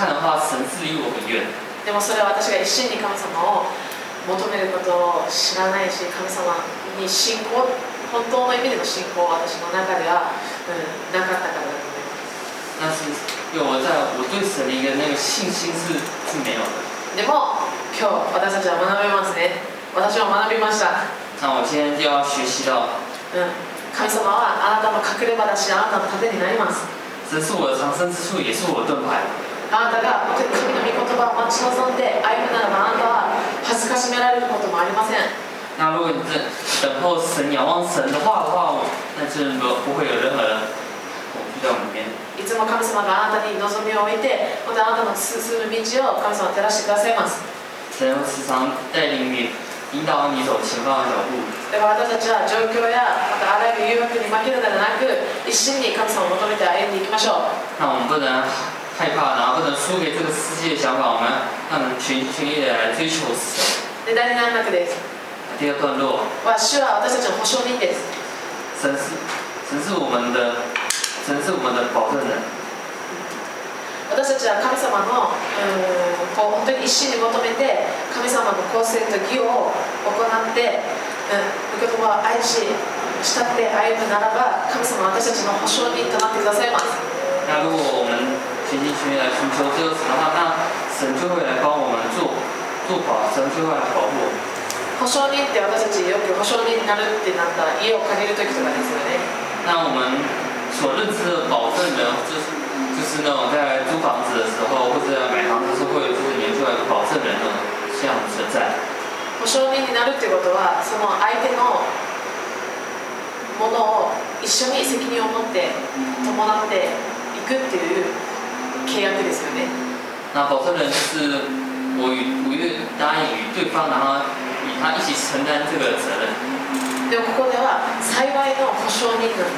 看的话，神是离我很遠。 でもそれは私が一心に神様を求めることを知らないし、神様に信仰、本当の意味での信仰は私の中では、なかったからだと思います。 但是因为我对神的一个那个信心是没有的。 でも今日私たちは学べますね。私は学びました。 那我今天就要学习到， 神様はあなたの隠れ場だし、あなたの盾になります。 神是我的藏身之处，也是我的盾牌。 あなたが本当に神の御言葉を待ち望んで歩むならば、あなたは恥ずかしめられることもありません。 那如果你等候神、仰望神的话，那就不会有任何的恐惧在我们里面。 いつも神様があなたに望みを置いて、またあなたの進む道を神様は照らしてくださいます。 神会時常帶領你、引導你走前方的腳步。 だから私たちは状況やまたあらゆる誘惑に負けるのではなく、一心に神様を求めて歩んでいきましょう。 那我们不能害怕，然后不能输给这个世界的想法，我们要能全意的来追求神。 で、第7幕です。 第二段落は、主は私たちの保証人です。 神是我们的保证人。 私たちは神様の本当に一心に求めて、神様の公正と義を行って、御言葉を愛し、慕って歩むならば、神様は私たちの保証人となってくださいます。 那如果我们全心全意来寻求这个神的话，那神就会来帮我们做保，神就会来保护我们。 保証人って私たちよく保証人になるってなったら家を借りるときとかですよね。 那我们所认知的保证人，就是那种在租房子的时候或者在买房子的时候会有就是研究一个保证人的这样的存在。 保証人になるっていうことは、その相手のものを一緒に責任を持って伴っていくっていう契約ですよね。 那保证人就是我答应与对方，然后与他一起承担这个责任。 でもここでは幸いの保証人なんです。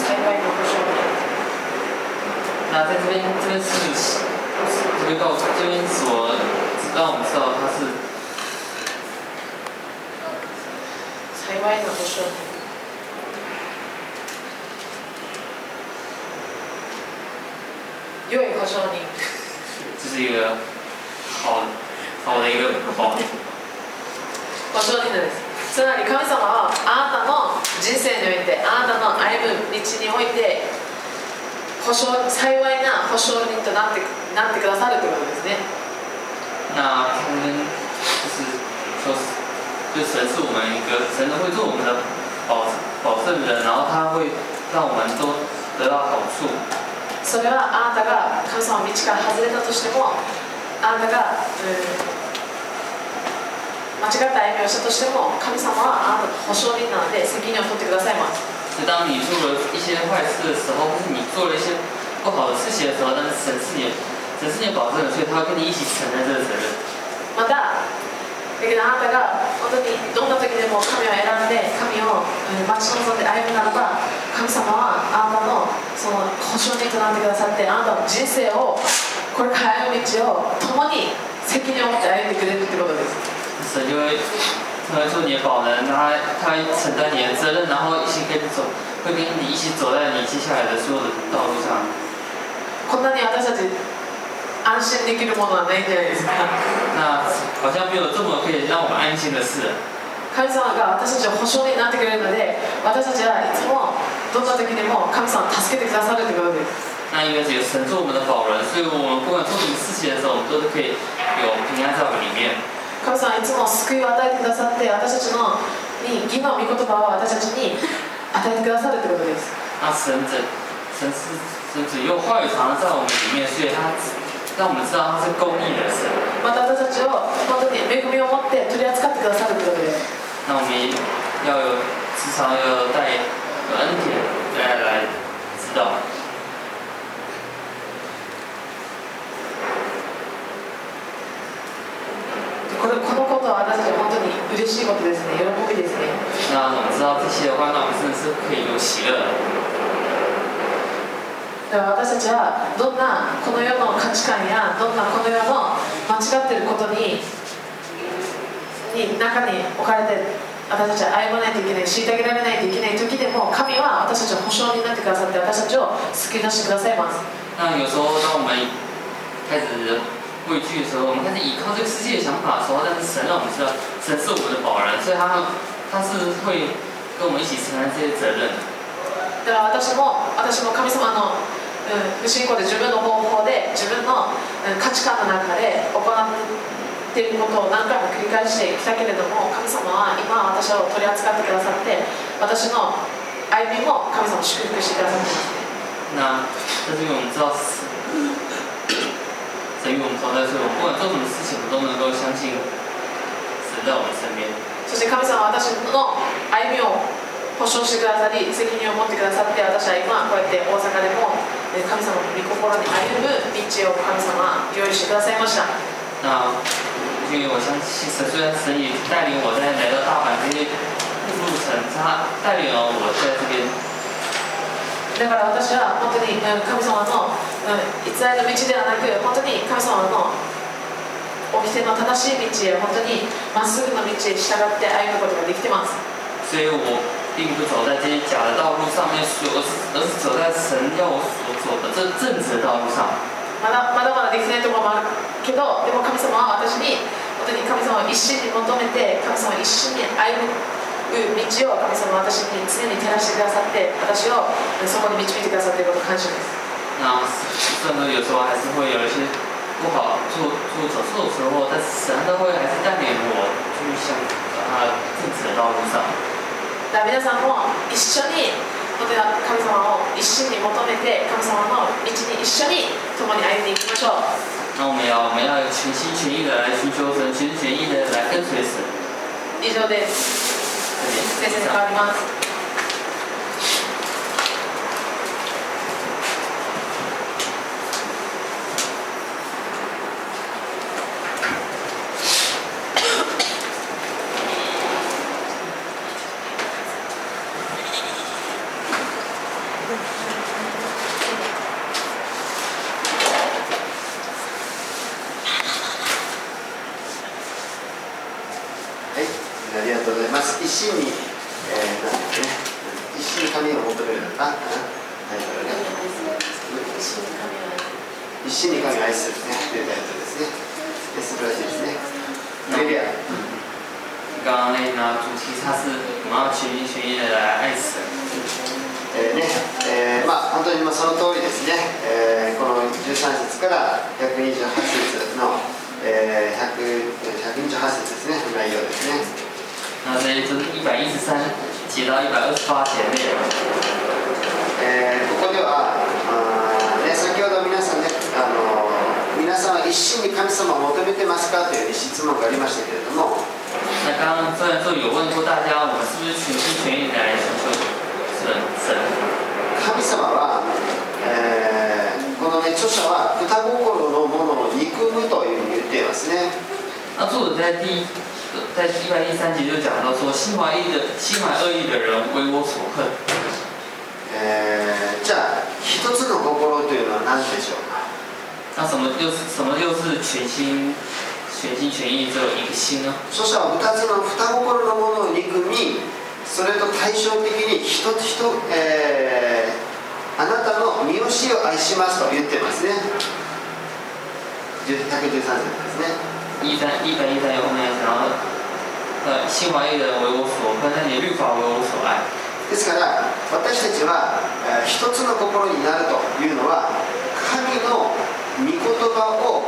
幸いの保証人。 那在这边所让我们知道他是幸いの保証人。良い保証人。 这是一个好的一个保証人です。つまり神様はあなたの人生において、あなたの歩む道において幸いな保証人となってくださるということですね。 那他们就是说，就神是我们一个神会做我们的保证人，然后他会让我们都得到好处。 それはあなたが神様の道から外れたとしても、あなたが、間違った歩みをしたとしても、神様はあなたの保証人なので責任を取ってくださいます。 就当你做了一些坏事的时候，或是你做了一些不好的事情的时候，但是神是你的保证人，所以他会跟你一起承担这个责任。 また、だけどあなたが本当にどんな時でも神を選んで神を待ち望んで歩むならば、神様はあなたのその保証人となってくださって、あなたの人生をこれから歩む道を共に責任を持って歩んでくれるってことです。 神就会做你的保人，他会承担你的责任，然后一起跟你走，会跟你一起走在你接下来的所有的道路上。 こんなに私たち安心できるものはないんじゃないですか。 那好像没有这么可以让我们安心的事。 神様が私たちを保証になってくれるので、私たちはいつもどんな時でも神様を助けてくださるということです。 那因为有神做我们的保人，所以我们不管做什么事情的时候，我们都是可以有平安在我们里面。 神様はいつも救いを与えてくださって、私たちに義の御言葉を私たちに与えてくださるということです。 那神只用话语藏在我们里面，所以他让我们知道他是公义的神。 また私たちを本当に恵みを持って取り扱ってくださるということです。 那我们要时常有恩典来知道。 このことは私たちは本当に嬉しいことですね。喜びですね。 那我们知道这些的话，那我们真的是可以有喜樂。 だから私たちはどんなこの世の価値観やどんなこの世の間違っていることに中に置かれて私たちは歩まないといけない、虐げられないといけない時でも、神は私たちの保証になってくださって、私たちを救い出してくださいます。 那有时候当我们们开始畏惧的时候，我们开始依靠这个世界的想法的时候，但是神让我们知道，神是我们的保人，所以他是会跟我们一起承担这些责任的。 だから私も神様の不信仰で自分の方法で自分の価値観の中で行っていることを何回も繰り返してきたけれども、神様は今私を取り扱ってくださって、私の歩みも神様を祝福してくださっています。 那这是因为我们知道神与我们同在，所以我们不管做什么事情，我们都能够相信神在我们身边。 そして神様は私の歩みを保証してくださり、責任を持ってくださって、私は今こうやって大阪でも神様の御心に歩む道を神様は用意してくださいました。 那因为我相信神，虽然神也带领我在来到大阪这些路程，他带领了我在这边。 だから私は本当に神様の偽りの道ではなく、本当に神様の掟の正しい道へ、本当にまっすぐの道へ従って歩むことができています。 所以我并不走在这些假的道路上面，而是走在神要我所走的这正直的道路上。 まだできないところもあるけど、でも神様は私に本当に神様を一心に求めて、神様を一心に歩む道を神様は私に常に照らしてくださって、私をそこに導いてくださっていることを感謝です。 那虽然说有时候还是会有一些不好走错的时候，但是神都会还是带领我去向他正直的道路上。 皆さんも一緒に本当に神様を一心に求めて、神様の道に一緒に共に歩んでいきましょう。 那我们要全心全意的来寻求神，全心全意的来跟随神。 以上です。先生に変わります。 ありがとうございます。一心に、一心に神を求めるのか、一心に神を愛するね、というタイトルですね。素晴らしいですね。レリア。 刚刚那主题它是我们要全心全意的来爱神。 本当にその通りですね。この13節から128節の128節ですね、内容ですね。 那这就是113节到128节内容。 ここでは先ほど皆さんね、皆さんは一心に神様を求めてますかという質問がありましたけれども。 那刚刚虽然说有问过大家，我们是不是全心全意来寻求神？ 神様は、このね著者は二心のものを憎むというふうに言っていますね。 那作者在113节就讲到说，心怀恶意的人为我所恨。 じゃあ一つの心というのは何でしょうか。 那什么又是全心全意只有一个心呢？ 著者は二心のものを憎み、それと対照的にあなたの身教えを愛しますと言ってますね。113節ですね。113 有后面讲到，心怀恶意的人为我所恨，那你律法为我所愛。 ですから私たちは、一つの心になるというのは、神の御言葉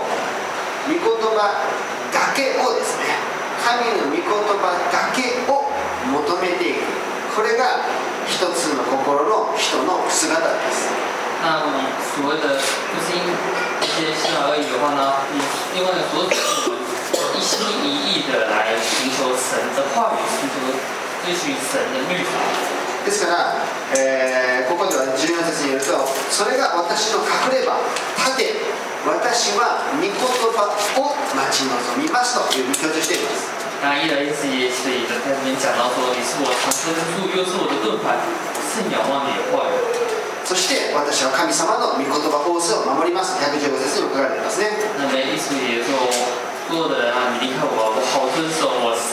だけをですね、神の御言葉だけを求めていく、これが一つの心の人の姿です。 那所谓的就是一些心怀恶意的话呢，另外一个所指一心一意的来寻求神的话语，追寻神的律法。 ですから、ここでは14節によると、それが私の隠れ場、盾、私は御言葉を待ち望みますという強調しています。 那1的意思也是在这边讲到说，你是我藏身之处，又是我的盾牌，甚仰望你的话语。 そして私は神様の御言葉仰せを守ります。115節にも書かれていますね。 那么意思也说，所有的人啊，你离开我，我好遵守我神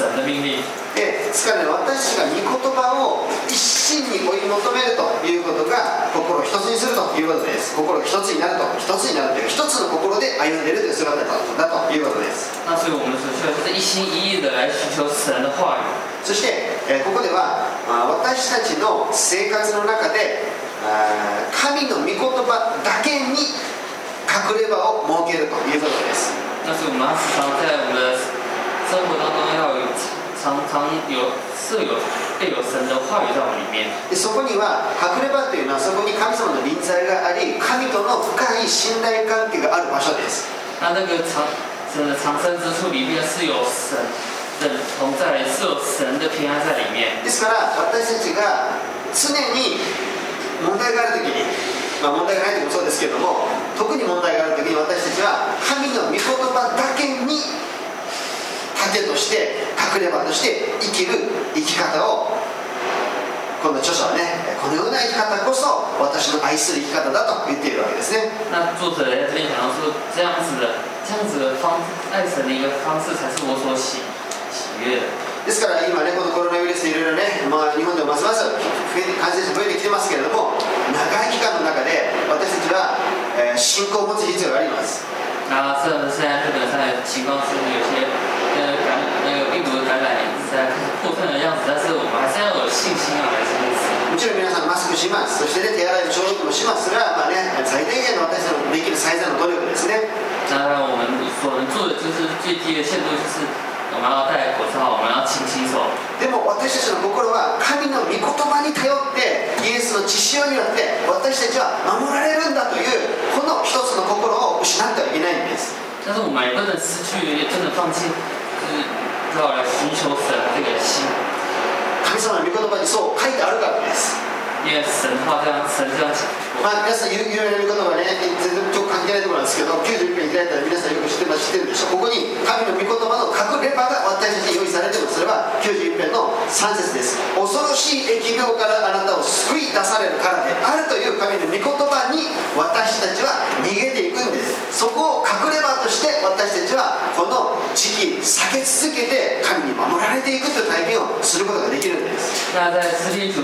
神的命令。 ですからね、私が御言葉を一心に追い求めるということが心を一つにするということです。心が一つになると、一つになるという一つの心で歩んでいるという姿だということです。 那所以我们所需要就是一心一意的来寻求神的话语。 そして、ここでは私たちの生活の中で神の御言葉だけに隠れ場を設けるということです。 那是我们要时常在我们的生活当中要有常常有设有备有神的话语在我们里面。 でそこには隠れ場というのはそこに神様の臨在があり、神との深い信頼関係がある場所です。 那个藏身之处里面是有神的同在，是有神的平安在里面。 ですから私たちが常に問題があるときに、問題がないときもそうですけれども、特に問題があるときに私たちは神の御言葉だけに盾として隠れ場として生きる生き方を、この著者はね、このような生き方こそ私の愛する生き方だと言っているわけですね。 那作者在这边讲到说，这样子的爱神的一个方式才是我所喜悦的。 ですから今ね、このコロナウイルスでいろいろね、日本でもますます感染者増えてきてますけれども、長い期間の中で私たちは、信仰を持つ必要があります。 那现在日本上的情况是有些病毒的感染一直在扩散的样子，但是我们还是要有信心啊，来坚持。 もちろん皆さんマスクします。そして、ね、手洗い消毒もします。それは最低限の私たちのできる最善の努力ですね。 那我们所能做的就是最低的限度，就是我们要戴口罩，我们要勤洗手。 でも私たちの心は神の御言葉に頼ってイエスの血潮によって私たちは守られるんだというこの一つの心を失ってはいけないんです。 但是我们也不能失去，也不能放弃，就是要来寻求神这个心。 神様の御言葉にそう書いてあるからです。 因为神这样讲。 皆さん有名な御言葉ね、全然関係ないところなんですけど、91編開いたら皆さんよく知ってるでしょう。ここに神の御言葉の隠れ場が私たちに用意されています。それは91編の3節です。恐ろしい疫病からあなたを救い出されるからであるという神の御言葉に私たちは逃げていくんです。そこを隠れ場として私たちはこの時期避け続けて神に守られていくという体験をすることができるんです。 那在诗篇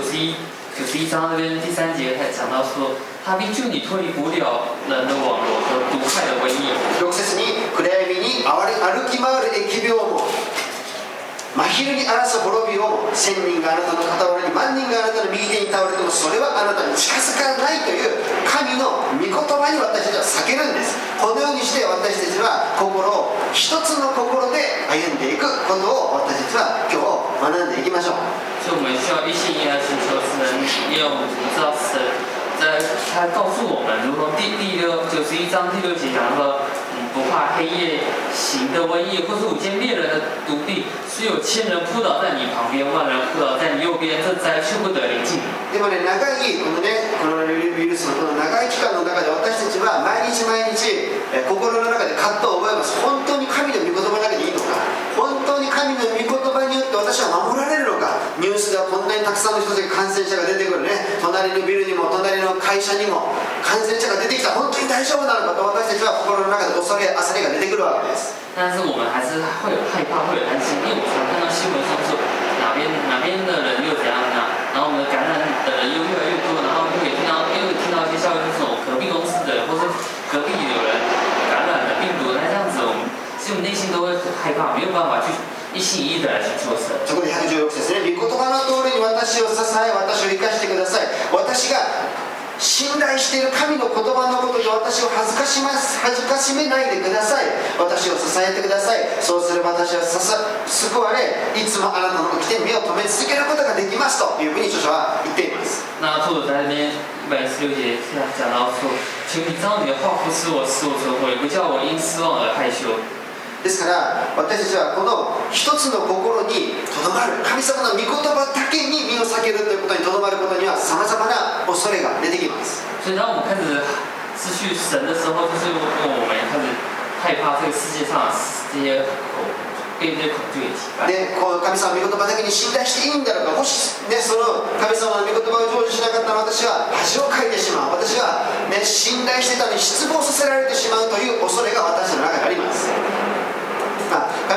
91章那边第3节还讲到说，他必救你脱离捕鸟人的网罗和毒害的瘟疫。 6節に暗闇に歩き回る疫病も真昼に荒らす滅びをも、1000人があなたの傍らに万人があなたの右手に倒れてもそれはあなたに近づかないという神の御言葉に私たちは避けるんです。このようにして私たちは心を一つの心で歩んでいくことを私たちは今日学んでいきましょう。 所以我们需要一心一意来寻求神，因为我们知道神他告诉我们，如同91章第6节讲说，不怕黑夜行的瘟疫，或是午间猎人的毒病，虽有1000人扑倒在你旁边，万人扑倒在你右边，这灾却不得临近。 でもね、長いこのね、コロナウイルスのこの長い期間の中で私たちは毎日毎日、心の中で葛藤を覚えます。本当に神の御言葉だけでいいのか、本当に神の御言葉によって私は守られるのか。ニュースではこんなにたくさんの人たちが感染者が出てくるね、隣のビルにも隣の会社にも感染者が出てきた、本当に大丈夫なのかと私たちは心の中で恐れ焦りが出てくるわけです。 但是我们还是会有害怕，会有担心，因为我常看到新闻上说哪边的人又怎样呢？然后我们感染的人又越来越多，然后又听到一些消息，就是隔壁公司的人或是隔壁有人感染了病毒，那这样子我们其实我们内心都会很害怕，没有办法去一心一意的来寻求神。 そこで116節ね、御言葉の通りに私を支え、私を生かしてください。私が信頼している神の言葉のことで私を恥ずかしめないでください。私を支えてください。そうすれば私は救われ、いつもあなたの起きて目を留め続けることができますというふうに著者は言っています。 那作者在那边116节讲到说，求你照你的话扶持我，使我存活，也不叫我因失望而害羞。 ですから私たちはこの一つの心にとどまる、神様の御言葉だけに身を避けるということにとどまることにはさまざまな恐れが出てきます。 所以当我们开始失去神的时候，就是因为我们开始害怕这个世界上这些被这些恐惧给击败。 で、この神様の御言葉だけに信頼していいんだろうか、もし、ね、その神様の御言葉を成就しなかったら私は恥をかいてしまう、私は、ね、信頼してたのに失望させられてしまうという恐れが私の中にあります。神様の御言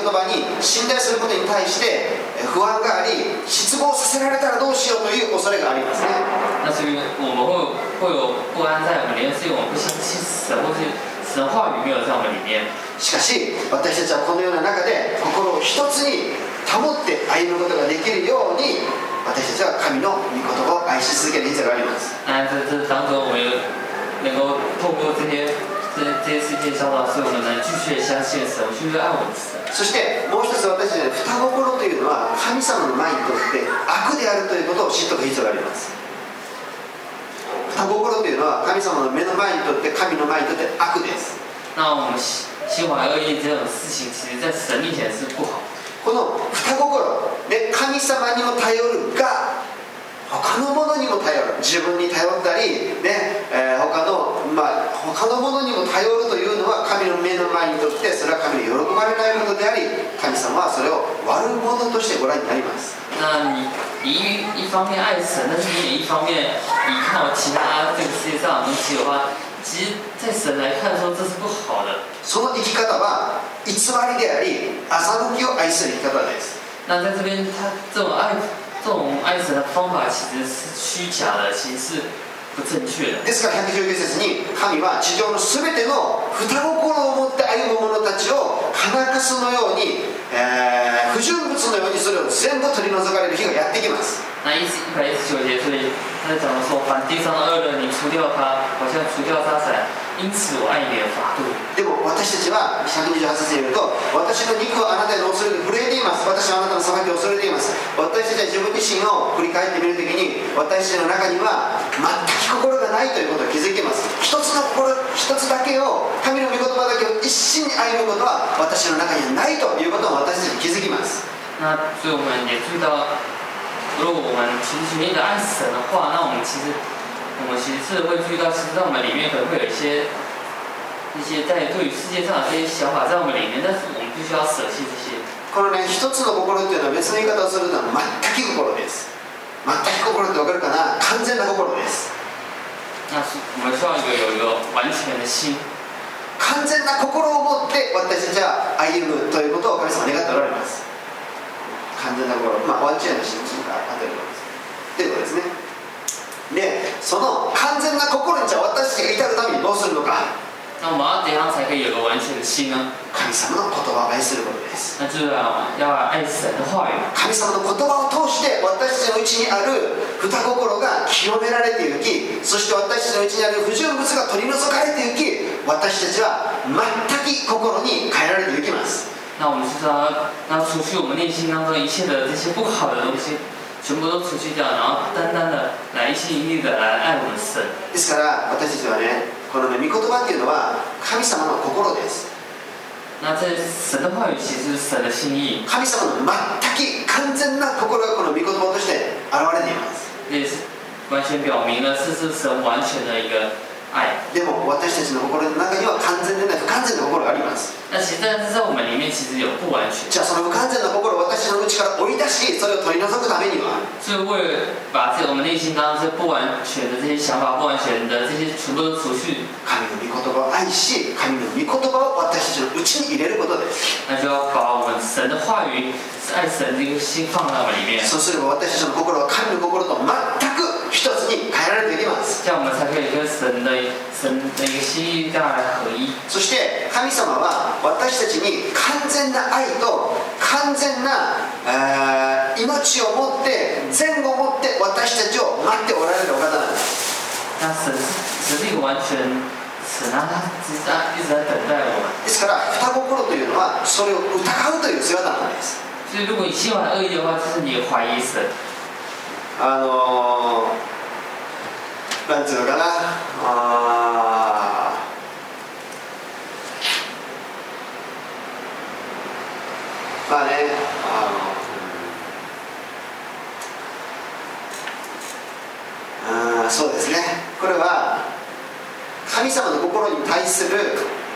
葉に信頼することに対して不安があり、失望させられたらどうしようという恐れがありますね。 那是因为我们会有不安在我们里面，是因为我们不相信神，或是神的话语没有在我们里面。 しかし私たちはこのような中で心を一つに保って歩むことができるように、私たちは神の御言葉を愛し続ける必要があります。 那在这当中，我们能够透过这些世界教导，所以我们能继续相信神，继续爱我们的神。 そしてもう一つ私たちの双心というのは神様の前にとって悪であるということを知っておく必要があります。双心というのは神様の目の前にとって神の前にとって悪です。 那我们心怀恶意这种事情，其实在神面前是不好。 この双心で神様にも頼るが他のものにも頼る、自分に頼ったり、ね他のものにも頼るというのは神の目の前にとってそれは神に喜ばれないことであり、神様はそれを悪者としてご覧になります。 那你一方面爱神，但是你也一方面依靠其他这个世界上的东西的话，其实在神来看说这是不好的。 その生き方は偽りであり、欺きを愛する生き方です。 那在这边，他这种爱神的方法其实是虚假的，其实是不正确的。 ですから119節に神は地上のすべての双心を持って歩む者たちを金かすのように、不純物のようにそれを全部取り除かれる日がやってきます。 那119节，所以他在讲的说，凡地上的恶人，你除掉他，好像除掉沙伞。因此我愛你的法度。 でも私たちは128節によると、私の肉はあなたの恐れで震えています。私はあなたの裁きを恐れています。私たちは自分自身を振り返ってみるときに、私たちの中には全く心がないということを気づいています。一つの心、一つだけを、神の御言葉だけを一心に歩むことは私の中にはないということを私たち気づきます。 那所以我们也注意到，如果我们全心全意的爱神的话，那我们其实是会注意到，其实在我们里面可能会有一些在对于世界上的这些想法在我们里面，但是我们必须要舍弃这些。 このね、一つの心というのは別の言い方をすると全く心です。全く心って分かるかな？完全な心です。 那我们需要有一个完全的心。 完全な心を持って私たちは歩むということを神様は願っておられます。完全な心、ワンチェーンの心が当たるわけです。ということですね。で、その完全な心にじゃあ私たちが至るためにどうするのか。 那我们要怎样才可以有个完全的心呢？ 神様の言葉を愛することです。 那就是要爱神的話語。 神様の言葉を通して私たちのうちにある二心が清められていき、そして私たちのうちにある不純物が取り除かれていき、私たちは全く心に変えられていきます。 那我们就是要除去我们内心当中一切的这些不好的东西，全部都除去掉，然后单单的来一心一意的来爱我们的神。 ですから私たちはね、この御言葉っていうのは神様の心です。 那这神的话语其实是神的心意。 神様の全く完全な心がこの御言葉として現れています。 也是完全表明了这是神完全的一个愛。 でも私たちの心の中には完全でない不完全な心があります。 但其实在我们里面其实有不完全。 じゃあその不完全な心を私の内から追い出し、それを取り除くためには、 所以为了把我们内心当中这不完全的这些想法、不完全的这些全部都除去， 神の御言葉を愛し、神の御言葉を私たちの内に入れることです。 那就要把我们神的话语、愛神这个心放在我们里面。 そうすれば私たちの心は神の心と全く一つに変えられていきます。 这样我们才可以跟神的一个心意大来合一。 そして神様は私たちに完全な愛と完全な命を持って善を持って私たちを待っておられるお方なんです。 那神是一个完全神啊，他一直在等待我们。 ですから双心というのはそれを疑うという姿なんです。 所以如果你心怀恶意的话，就是你怀疑神。 なんていうのかな、そうですね、これは神様の心に対する、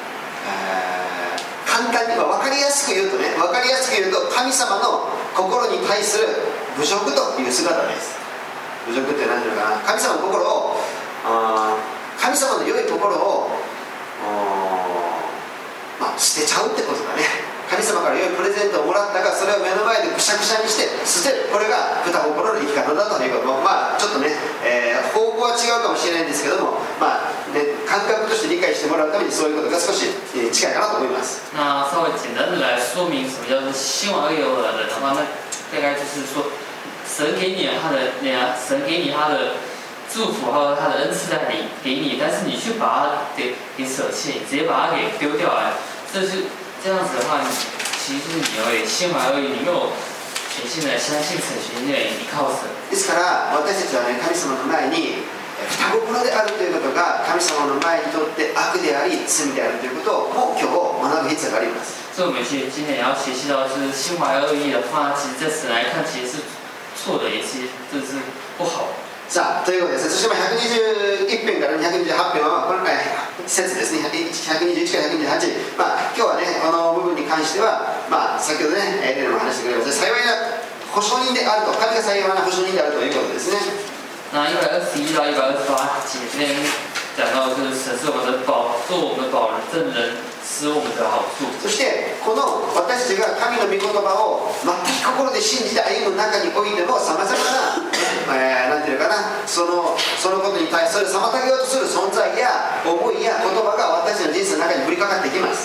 簡単に分かりやすく言うと神様の心に対する侮辱という姿です。侮辱って何ていうのかな、神様の心を神様の良いところを捨てちゃうってことだね。 神様から良いプレゼントをもらったが、それを目の前でくしゃくしゃにして捨てる、これが豚心の生き方だということも、ちょっとね、方向は違うかもしれないんですけども、感覚として理解してもらうためにそういうことが少し近いかなと思います。 那稍微简单的来说明什么叫做希望恶有的人的话，那大概就是说，神给你神给你他的祝福，还有他的恩赐在给你，但是你去把它给舍弃，直接把它给丢掉了，这样子的话，其实就是你而已，心怀而已，你没有全心的相信神，全心的依靠神。 ですから私たちはね、神様の前に双心であるということが神様の前にとって悪であり罪であるということをもう今日学ぶ必要があります。 所以我们今天也要学习到，就是心怀恶意的话，其实在神来看其实是错的，也是这是不好的。 さあということですね。そして121編から228編はこの節ですね。121から128、今日はねこの部分に関しては、先ほどねエレンも話してくれました幸いな保証人であると、神が幸いな保証人であるということですね。 那121到128节这边讲到，就是神是我们的做我们的保证人，使我们得好处。 そしてこの私たちが神の御言葉を全く心で信じて歩む中においても、さまざまな、なんていうかな、そのことに対する妨げようとする存在や思いや言葉が私たちの人生の中に降りかかってきます。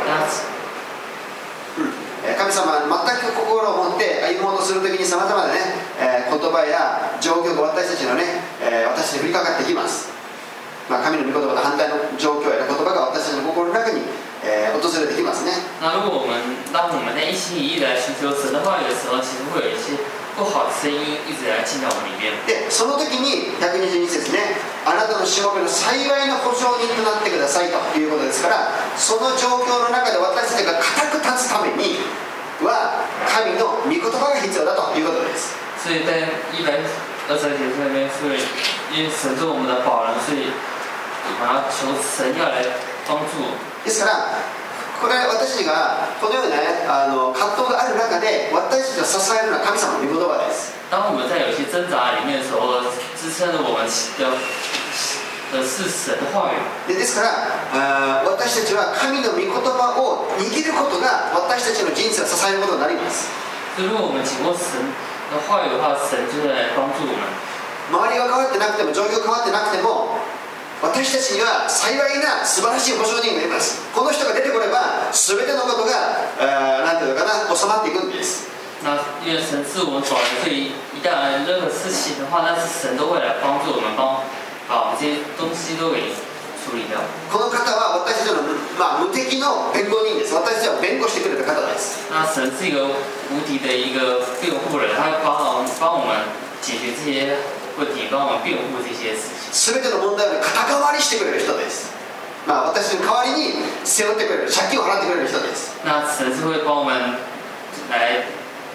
神様は全く心を持って歩もうとするときにさまざまな、ね言葉や状況が私たちのね、私に降りかかってきます。神の御言葉と反対の状況や言葉が私たちの心の中に、訪れてきますね。 那如果当我们在一心一意的寻求神的话语的时候，其实会有一些不好的声音一直来进到我们里面。 で、その時に122節ね、あなたのしもべの幸いの保証人となってくださいということですから、その状況の中で私たちが固く立つためには神の御言葉が必要だということです。 所以在123节那边，所以因为神是我们的保人，所以我们要求神要来帮助我们。 ですからこれ私がこのような、葛藤がある中で私たちを支えるのは神様の御言葉です。 当我们在有些挣扎里面的时候，支撑着我们的是神的话语。 ですから私たちは神の御言葉を握ることが私たちの人生を支えることになります。 如果我们紧握神的话语的话，神就会来帮助我们。 周りが変わってなくても状況変わってなくても、私たちには幸いな素晴らしい保証人がいます。この人が出てこれば全てのことがなんていうのかな、収まっていくんです。 那因为神是我们保人，所以一旦任何事情的话，但是神都会来帮助我们，把我们这些东西都给处理掉。 この方は私たちの、無敵の弁護人です。私たちを弁護してくれた方です。 那神是一个无敌的一个辩护人，他会帮我们解决这些问题，帮我们辩护这些事情。 全ての問題を肩代わりしてくれる人です。私の代わりに背負ってくれる、借金を払ってくれる人です。 那神是会帮我们来。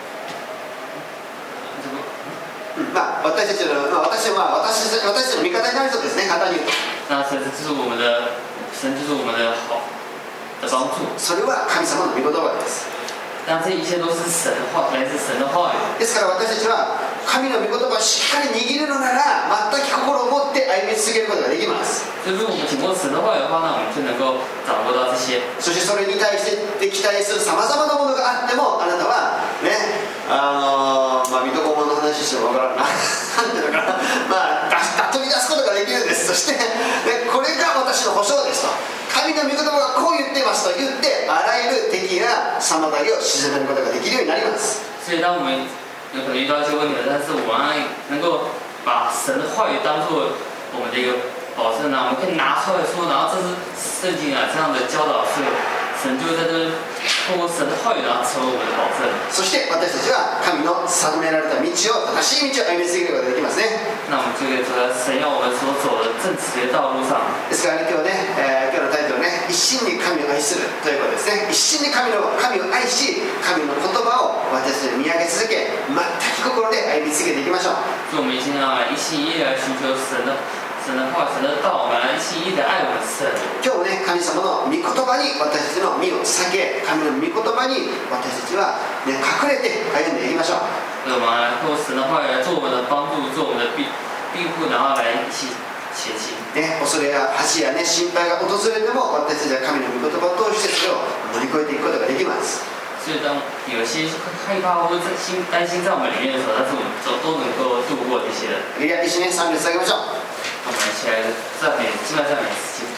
私たちの味方になる人ですね、簡単に言うと。 那神就是我们的好的帮助。 それは神様の御言葉です。 那这一切都是神的话，来自神的话语。 ですから私たちは神の御言葉をしっかり握るのなら、全く心を持って歩み続けることができます。 如果我们紧握神的话语的话，那我们就能够掌握到这些。 そしてそれに対して期待するさまざまなものがあっても、あなたはね、水戸黄門の話してもわからんななんていうのかな、飛び出すことができるんです。そして、これが私の保証ですと、神の御言葉がこう言っていますと言って、あらゆる敵や妨げを沈めることができるようになります。 所以当我们有可能遇到一些问题，但是我们能够把神的话语当作我们的一个保证呢，我们可以拿出来说，然后这是圣经这样的教导，所以神就在这通过神的话语，然后成为我们的保证。 そして私たちは神の定められた道を、正しい道を歩み続けることができますね。 那我们就可以走在神要我们所走的正直的道路上。 ですから、今日のタイトルね、一心に神を愛するということですね。一心に神を愛し、神の言葉を私たちに見上げ続け、全く心で歩み続けていきましょう。 所以我们一心要一心一意来寻求神的话、神的道，我们来一心一意的爱我们神。 今日もね、神様の御言葉に私たちの身を避け、神の御言葉に私たちは、隠れて歩んでいきましょう。 我们来通过神的话语来做我们的帮助，做我们的庇护，然后来一起前行。 ね、恐れや恥や、ね、心配が訪れても私たちは神の御言葉を通してそれを乗り越えていくことができます。 所以当有一些害怕或者担心在我们里面的时候，但是我们都能够度过这些的。 いや、一緒に賛美を捧げましょう。 我们一起来赞美，敬拜赞美自己。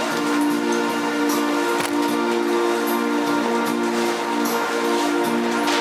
「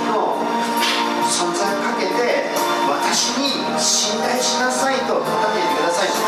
の存在をかけて私に信頼しなさいと語っていてくださいます。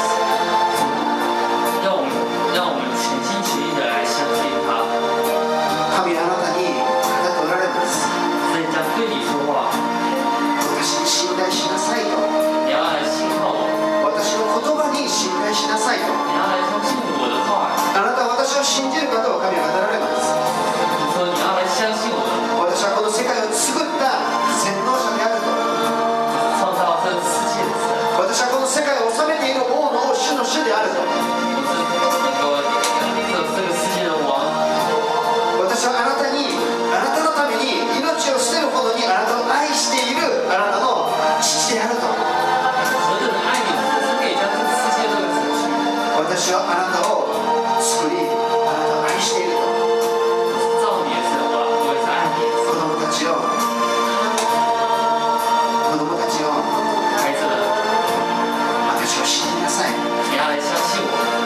让我们全心全意的来相信他。 神はあなたに語っておられます。 所以将对你说话， 私に信頼しなさいと。 你要来信靠我， 私の言葉に信頼しなさいと。 你要来相信我的话。 あなたは私を信じる方を神は語られます。 你说你要来相信我的， 私はこの世界を作った全能者であると。 创造这个世界的神。 私はこの世界を治めている王の王、主の主であると。 这个世界的王。 私はあなたのために命を捨てるほどにあなたを愛しているあなたの父であると。 何等的爱你，是可以将这个世界都给省去。 私はあなたを作り、あなたを愛していると。 造你的神，我也是爱你的神。 子供たちを孩子们， 私を信じなさい。 你要来相信我。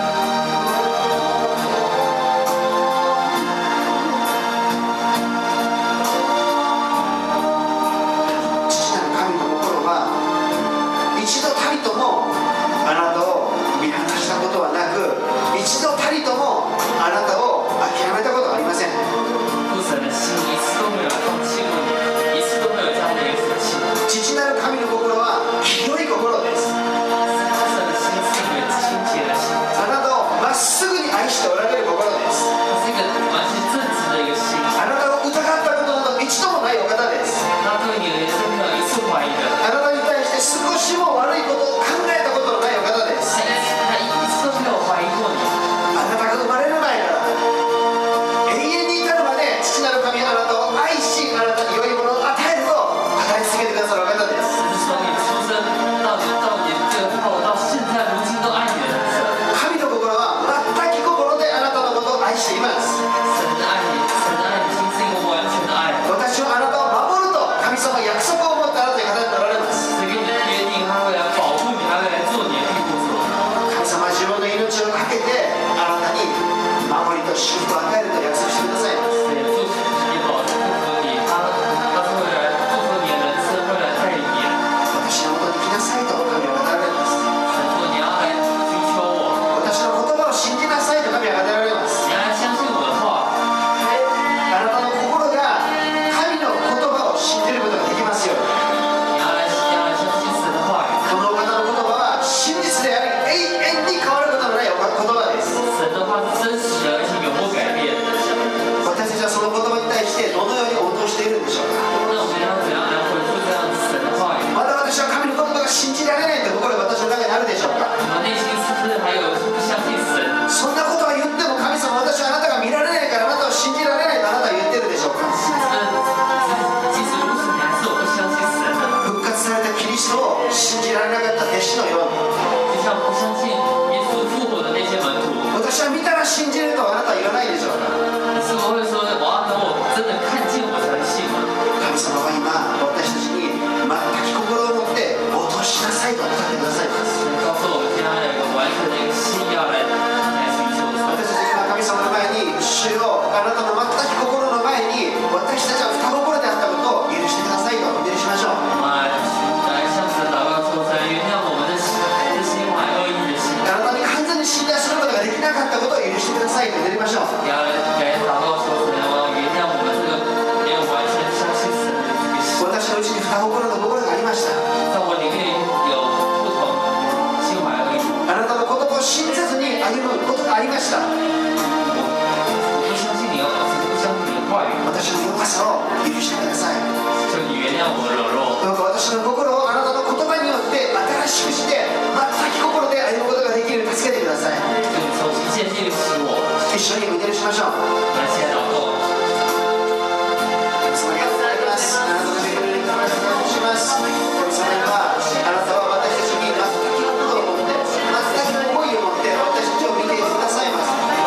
父なる神の心は一度たりともあなたを見放したことはなく、一度たりともあなたを諦めたことはありません。 父神的心一次都没有放弃过你，一次都没有这样的一个生气。 父なる神の心は清い心です。 父神的心是一个清洁的心， あなたをまっすぐに愛しておられる心です。 它是一个完全正直的一个心。 あなたを疑ったことなど一度もないお方です。 他对你的人生没有一次怀疑的， あなたに対して少しも悪いことを考えたことのないお方です。 他一次都没有怀疑过你。 あなたが生まれる前から永遠に至るまで父なる神あなたを愛し、あなたに良いものを与えると語り続けてくださるお方です。 从你出生到你最后到现在如今都爱你的人生。 神の心は全き心であなたのことを愛しています。 神的爱你，神的爱你心是一个完全的爱。 私はあなたを守ると神様は約束を持ってあなたに語っておられます。 神跟你约定，他会来保护你，他会来做你的庇护所。 神様は自分の命をかけてあなたに守りと祝福を与えると約束してくださいます。 对，祝福你，保祝福你，他是会来祝福你的人生，会来带领你。 私のもとに来なさいと神は語られます。 神说你要来寻求我， 私の言葉を信じなさいと神は語られます。 你要来相信我的話。 あなたの心が神の言葉を信じることができますように。 你要来相信神的話語。 このお方の言葉は真実であり永遠に変わることのない言葉です。 神的話是真實的，而且永不改變。 私たちはその言葉に対してどのように応答しているんでしょうか。 那我們要怎樣來回復這樣神的話語？ まだ私は神の言葉が信じられないという心が私の中にあるでしょうか。 我們內心是不是還有不相信神？ そんなことは言っても神様、私はあなたが見られないからあなたを信じられないとあなたは言ってるでしょうか。 即使如此，你還是我不相信神的。 復活されたキリストを信じられなかった弟子のように、 就像不相信耶穌復活的那些門徒， 私は見たら信じるとあなたは言わないでしょうか。 你是否會說我要等我真的看見我才信嗎？ 神様は今私たちに全き心を持って応答しなさいと語ってくださいます。 告訴我們現在有一個完全的一個信要來尋求神。 私たち今神様の前に主よ、あなたの全き心の前に私たちは双心であったことを許してくださいとお祈りしましょう。 來向神禱告求神原諒我們的心懷惡意的心。 あなたに完全に信頼することができなかったことを許してくださいと祈りましょう。 也要來禱告求神，我要原諒我們這個沒有完全相信神的這個心。 私のうちに双心の心がありました。 在我裡面有不同心懷惡意。 あなたの言葉を信じずに歩むことがありました。 我不相信你，不相信你的話語。 私の弱さを許してください。 求你原諒我的軟弱。 どうか私の心をあなたの言葉によって新しくして全き心で歩むことができるように助けてください。 求你重新建立使我。 一緒にお祈りしましょう。 來，現在禱告。 神様ありがとうございます。あなたの恵みに感謝します。神様にはあなたは私たちに全き心を持って全き思いを持って私たちを見ていてくださいます。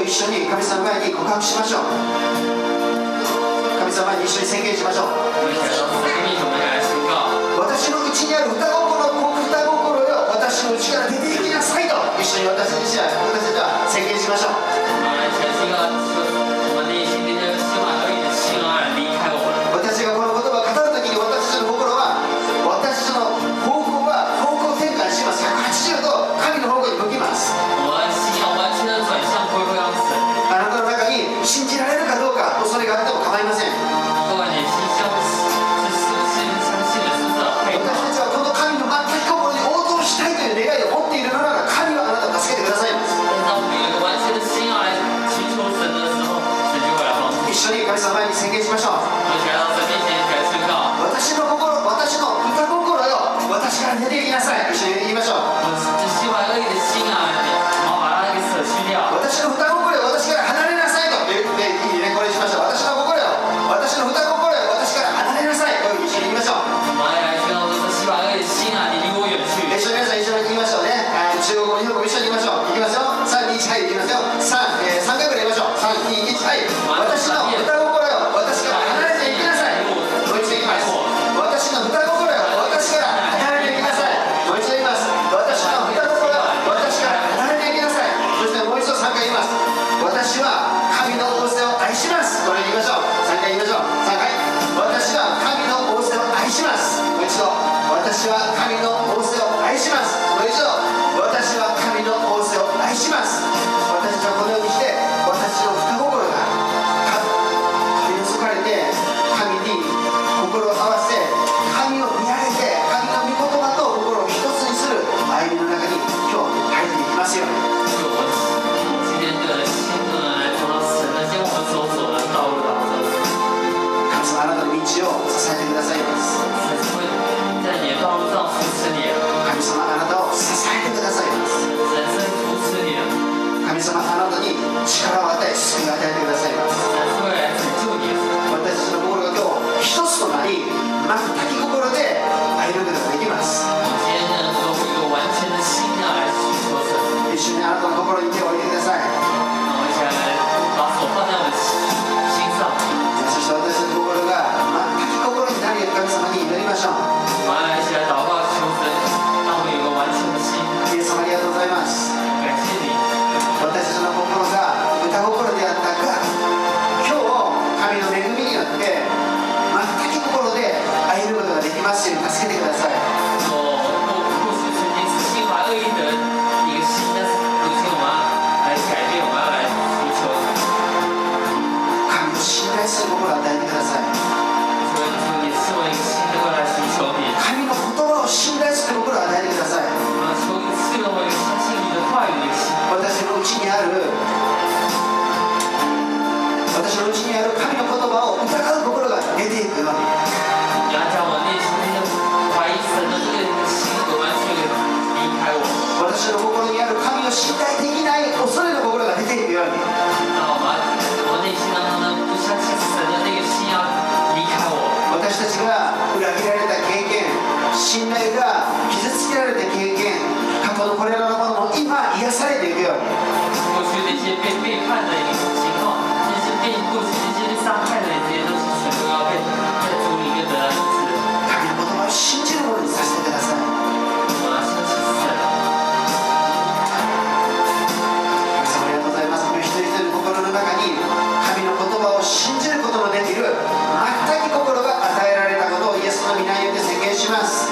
一緒に神様前に告白しましょう。神様に一緒に宣言しましょう。私のうちにある双心よ、私のうちから出ていきなさいと一緒に私たちは宣言しましょう。私がこの言葉を語るときに、私たちの心は、私たちの方向転換します。180度神の方向に向きます。あなたの中に信じられるかどうか恐れがあっても構いません。私たちはこの神の全く心に応答したいという願いを持っているのなら、神はあなたを助けてくださいます。一緒に神様前に宣言しましょう。私の心、私の歌心よ、私から出ていきなさい。一緒に言いましょう。私の歌心よ、私から離れなさいと。いいね、これにしましょう。私の心よ、私の歌心よ、私から離れなさい。これ一緒に言いましょう。一緒に皆さん一緒に言いましょうね。中国語、日本語一緒に言いましょう。いきますよ。3、2、1、はい、言いますよ。3回ぐらい言いましょう。3、2、1、はい。私の歌心よ、私から離れていきなさい。もう一度言います。私の歌心よ、私から離れていきなさい。もう一度言います。私の歌心よ、私から離れていきなさい。そしてもう一度3回言います。私は神の仰せを愛します。これ言いましょう。3回言いましょう。3回。私は神の仰せを愛します。もう一度。私は神の仰せを愛します。もう一度。私は神の仰せを愛します。私たちはこのようにして、私の双心が神にそかれて、神に心を合わせ、神を見上げて、神の御言葉と心を一つにする歩みの中に今日入っていきますよ。神様、あなたの道を支えてくださいます。神様、あなたを支えてくださいます。神様、あなたに力を与え、救いを与えてくださいます。私たちの心が今日一つとなり、全き心で歩むことができます。一緒にあなたの心に手を置いてください。そして私たちの心が全き心になるように神様に祈りましょう。イエス様、ありがとうございます。私たちの心が歌心であったが、今日神の恵みによって全き心で歩むことができますように助けてください。神を信頼する心を与えてください。神の言葉を信頼する心を与えてください。私のうちにある神の言葉を疑う心が出ていくように。私の心にある神を信頼できない恐れの心が出ていくように。私たちが裏切られた経験、信頼が傷つけられた経験、過去のこれらのものも今癒されていくように。神の言葉を信じるものにさせてください。神様、ありがとうございます。一人一人の心の中に神の言葉を信じることのできる全き心が与えられたことをイエスの御名によって宣言します。